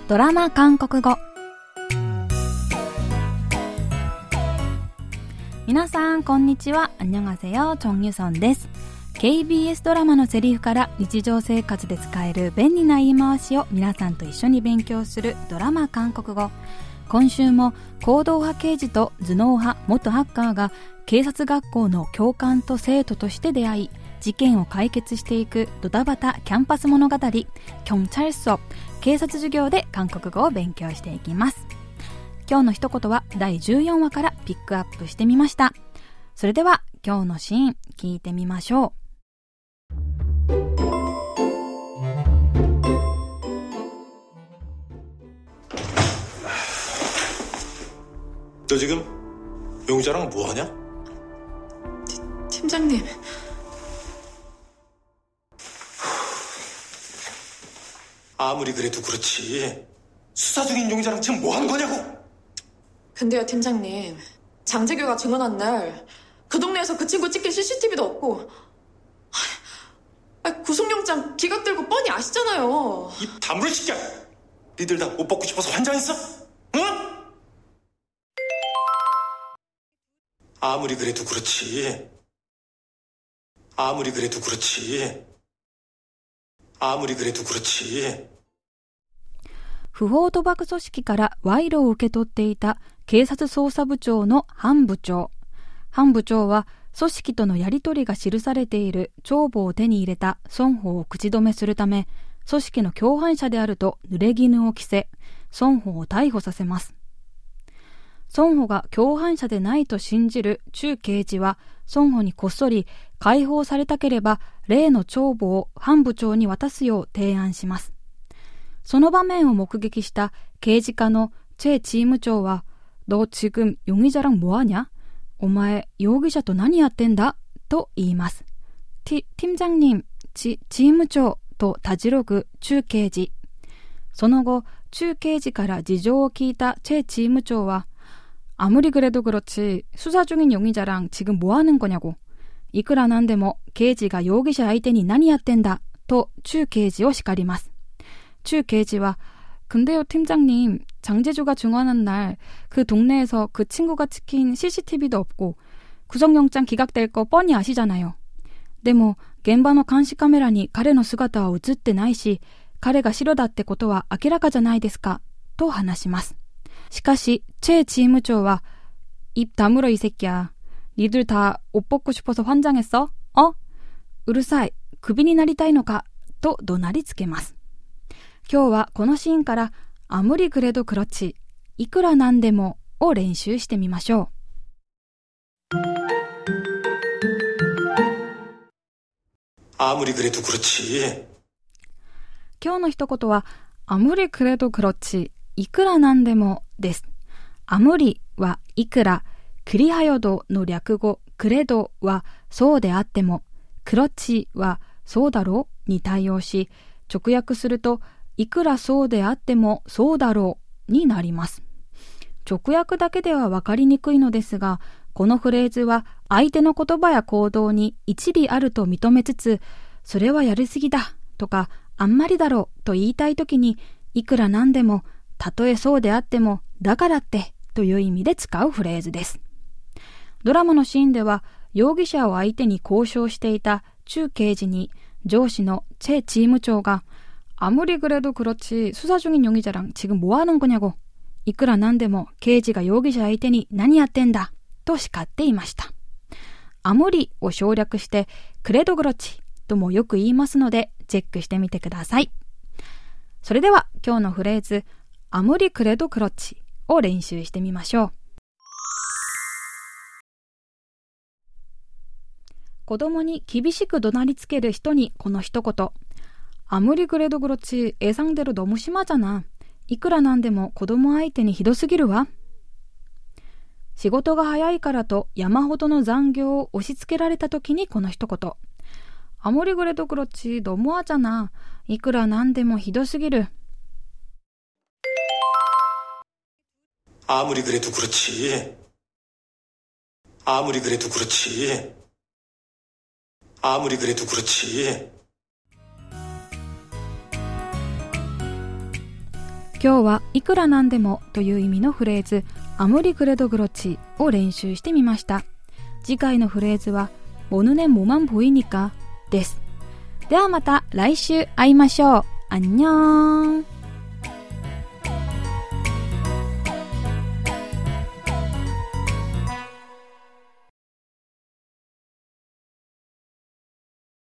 ドラマ韓国語。皆さんこんにちは。안녕하세요。チョンユソンです。KBS ドラマのセリフから日常生活で使える便利な言い回しを皆さんと一緒に勉強するドラマ韓国語。今週も行動派刑事と頭脳派元ハッカーが警察学校の教官と生徒として出会い、事件を解決していくドタバタキャンパス物語경찰서警察授業で韓国語を勉強していきます。今日の一言は第14話からピックアップしてみました。それでは今日のシーン聞いてみましょう。 너 지금 용의자랑 뭐하냐? 팀장님. 아무리 그래도 그렇지. 수사 중인 용의자랑 지금 뭐하는 거냐고. 근데요 팀장님, 장재규가 증언한 날 그 동네에서 그 친구 찍힌 CCTV도 없고 구속영장 기각되고 뻔히 아시잖아요. 입 다물어 시켜. 니들 다 옷 벗고 싶어서 환장했어? 응? 아무리 그래도 그렇지. 아무리 그래도 그렇지. 아무리 그래도 그렇지. 不法賭博組織から賄賂を受け取っていた警察捜査部長のハン部長。ハン部長は組織とのやり取りが記されている帳簿を手に入れた孫宝を口止めするため、組織の共犯者であると濡れ衣を着せ、孫宝を逮捕させます。孫宝が共犯者でないと信じる中刑事は、孫宝にこっそり解放されたければ例の帳簿をハン部長に渡すよう提案します。その場面を目撃した刑事課のチェチーム長は、너 지금 용의자랑 뭐하냐? お前、容疑者と何やってんだと言います。팀장님、チーム長とたじろぐ中刑事。その後、中刑事から事情を聞いたチェチーム長は、아무리 그래도 그렇지 수사 중인 용의자랑 지금 뭐 하는 거냐고. いくらなんでも刑事が容疑者相手に何やってんだと中刑事を叱ります。中刑事は근데요 팀장님, 장재주가 증언한 날 그 동네에서 그 친구가 찍힌 CCTV도 없고 구속영장 기각될 거 뻔히 아시잖아요. でも現場の監視カメラに彼の姿は映ってないし、彼が白だってことは明らかじゃないですかと話します。しかしチェチーム長は、입 다물어 이 새끼야. 니들 다 옷 벗고 싶어서 환장했어? うるさい。クビになりたいのかと怒鳴りつけます。今日はこのシーンから아무리 그래도 그렇지、いくらなんでもを練習してみましょう。 아무리 그래도 그렇지。 今日の一言は아무리 그래도 그렇지、いくらなんでもです。아무리はいくら、クリハヨドの略語クレドはそうであっても、クロッチはそうだろうに対応し、直訳するといくらそうであってもそうだろうになります。直訳だけでは分かりにくいのですが、このフレーズは相手の言葉や行動に一理あると認めつつ、それはやりすぎだとかあんまりだろうと言いたいときに、いくらなんでも、たとえそうであっても、だからってという意味で使うフレーズです。ドラマのシーンでは、容疑者を相手に交渉していた中刑事に上司のチェチーム長が、아무리 그래도 그렇지 수사 중인 용의자랑 지금 뭐 하는 거냐고. いくらなんでも刑事が容疑者相手に何やってんだと叱っていました。아무리を省略して그래도 그렇지ともよく言いますのでチェックしてみてください。それでは今日のフレーズ아무리 그래도 그렇지を練習してみましょう。子供に厳しく怒鳴りつける人にこの一言。아무리 그래도 그렇지 예상대로 너무 심하잖아。いくらなんでも子供相手にひどすぎるわ。仕事が早いからと山ほどの残業を押し付けられた時にこの一言。아무리 그래도 그렇지 너무하잖아。いくらなんでもひどすぎる。 아무리 그래도 그렇지. 아무리 그래도 그렇지. 아무리 그래도 그렇지. 今日はいくらなんでもという意味のフレーズ아무리 그래도 그렇지を練習してみました。次回のフレーズは모눈에 뭐만 보이니까です。ではまた来週会いましょう。안녕。